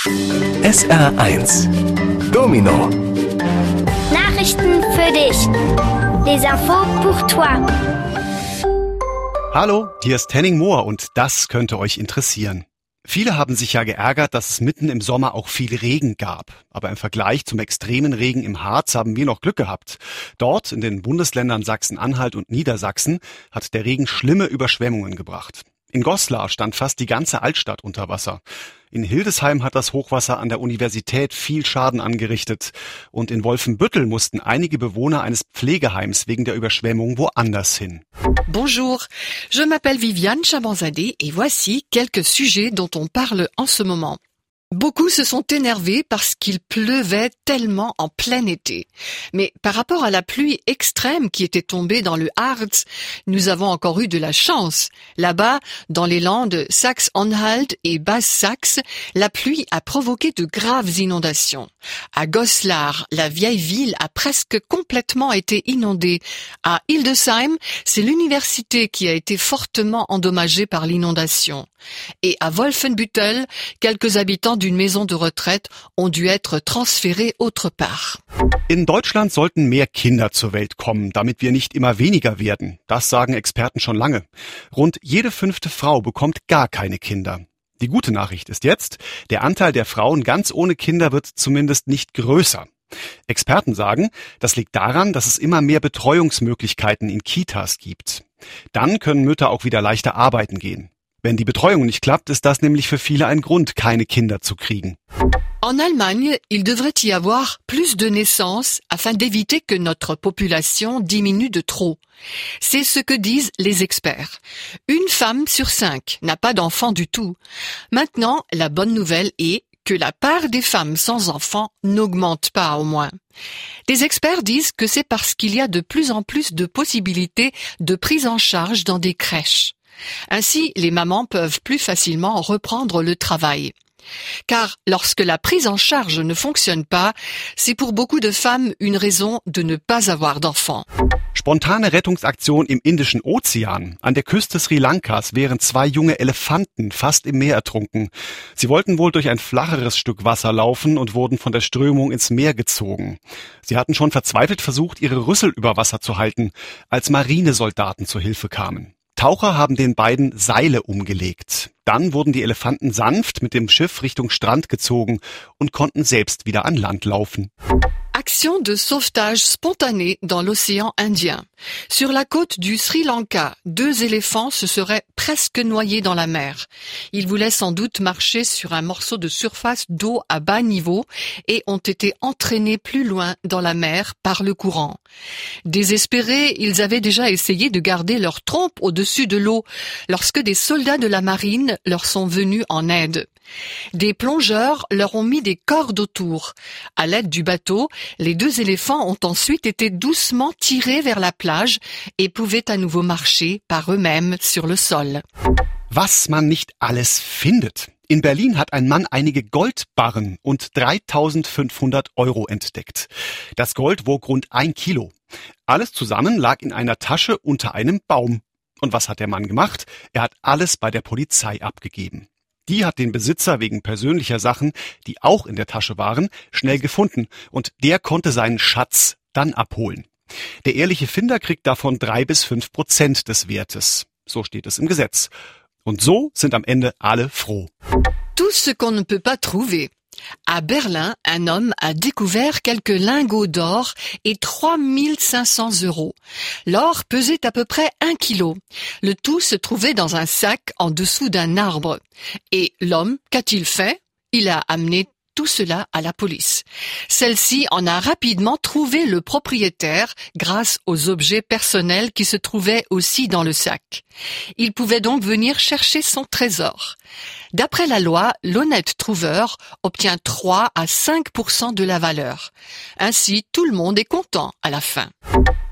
SR1 Domino. Nachrichten für dich. Les infos pour toi. Hallo, hier ist Henning Mohr und das könnte euch interessieren. Viele haben sich ja geärgert, dass es mitten im Sommer auch viel Regen gab. Aber im Vergleich zum extremen Regen im Harz haben wir noch Glück gehabt. Dort, in den Bundesländern Sachsen-Anhalt und Niedersachsen, hat der Regen schlimme Überschwemmungen gebracht. In Goslar stand fast die ganze Altstadt unter Wasser. In Hildesheim hat das Hochwasser an der Universität viel Schaden angerichtet. Und in Wolfenbüttel mussten einige Bewohner eines Pflegeheims wegen der Überschwemmung woanders hin. Bonjour, je m'appelle Viviane Chabanzadeh et voici quelques sujets dont on parle en ce moment. Beaucoup se sont énervés parce qu'il pleuvait tellement en plein été. Mais par rapport à la pluie extrême qui était tombée dans le Harz, nous avons encore eu de la chance. Là-bas, dans les Landes Saxe-Anhalt et Basse-Saxe, la pluie a provoqué de graves inondations. À Goslar, la vieille ville a presque complètement été inondée. À Hildesheim, c'est l'université qui a été fortement endommagée par l'inondation. Et à Wolfenbüttel, quelques habitants d'une maison de retraite ont dû être transférés autre part. In Deutschland sollten mehr Kinder zur Welt kommen, damit wir nicht immer weniger werden. Das sagen Experten schon lange. Rund jede 5. Frau bekommt gar keine Kinder. Die gute Nachricht ist jetzt, der Anteil der Frauen ganz ohne Kinder wird zumindest nicht größer. Experten sagen, das liegt daran, dass es immer mehr Betreuungsmöglichkeiten in Kitas gibt. Dann können Mütter auch wieder leichter arbeiten gehen. Wenn die Betreuung nicht klappt, ist das nämlich für viele ein Grund, keine Kinder zu kriegen. En Allemagne, il devrait y avoir plus de naissances afin d'éviter que notre population diminue de trop. C'est ce que disent les experts. Une femme sur 5 n'a pas d'enfant du tout. Maintenant, la bonne nouvelle est que la part des femmes sans enfants n'augmente pas au moins. Des experts disent que c'est parce qu'il y a de plus en plus de possibilités de prise en charge dans des crèches. Ainsi, les mamans peuvent plus facilement reprendre le travail. Car lorsque la prise en charge ne fonctionne pas, c'est pour beaucoup de femmes une raison de ne pas avoir d'enfants. Spontane Rettungsaktion im Indischen Ozean. An der Küste Sri Lankas wären 2 junge Elefanten fast im Meer ertrunken. Sie wollten wohl durch ein flacheres Stück Wasser laufen und wurden von der Strömung ins Meer gezogen. Sie hatten schon verzweifelt versucht, ihre Rüssel über Wasser zu halten, als Marinesoldaten zur Hilfe kamen. Taucher haben den beiden Seile umgelegt. Dann wurden die Elefanten sanft mit dem Schiff Richtung Strand gezogen und konnten selbst wieder an Land laufen. Action de sauvetage spontanée dans l'océan Indien. Sur la côte du Sri Lanka, 2 éléphants se seraient presque noyés dans la mer. Ils voulaient sans doute marcher sur un morceau de surface d'eau à bas niveau et ont été entraînés plus loin dans la mer par le courant. Désespérés, ils avaient déjà essayé de garder leur trompe au-dessus de l'eau lorsque des soldats de la marine leur sont venus en aide. Des plongeurs leur ont mis des cordes autour. À l'aide du bateau, les 2 éléphants ont ensuite été doucement tirés vers la plage et pouvaient à nouveau marcher par eux-mêmes sur le sol. Was man nicht alles findet. In Berlin hat ein Mann einige Goldbarren und 3.500 € entdeckt. Das Gold wog rund 1 Kilo. Alles zusammen lag in einer Tasche unter einem Baum. Und was hat der Mann gemacht? Er hat alles bei der Polizei abgegeben. Die hat den Besitzer wegen persönlicher Sachen, die auch in der Tasche waren, schnell gefunden und der konnte seinen Schatz dann abholen. Der ehrliche Finder kriegt davon 3-5% des Wertes. So steht es im Gesetz. Und so sind am Ende alle froh. Tout ce qu'on ne peut pas trouver. À Berlin, un homme a découvert quelques lingots d'or et 3500 €. L'or pesait à peu près 1 kilo. Le tout se trouvait dans un sac en dessous d'un arbre. Et l'homme, qu'a-t-il fait? Il a amené tout cela à la police. Celle-ci en a rapidement trouvé le propriétaire grâce aux objets personnels qui se trouvaient aussi dans le sac. Il pouvait donc venir chercher son trésor. D'après la loi, l'honnête trouveur obtient 3 à 5% de la valeur. Ainsi, tout le monde est content à la fin.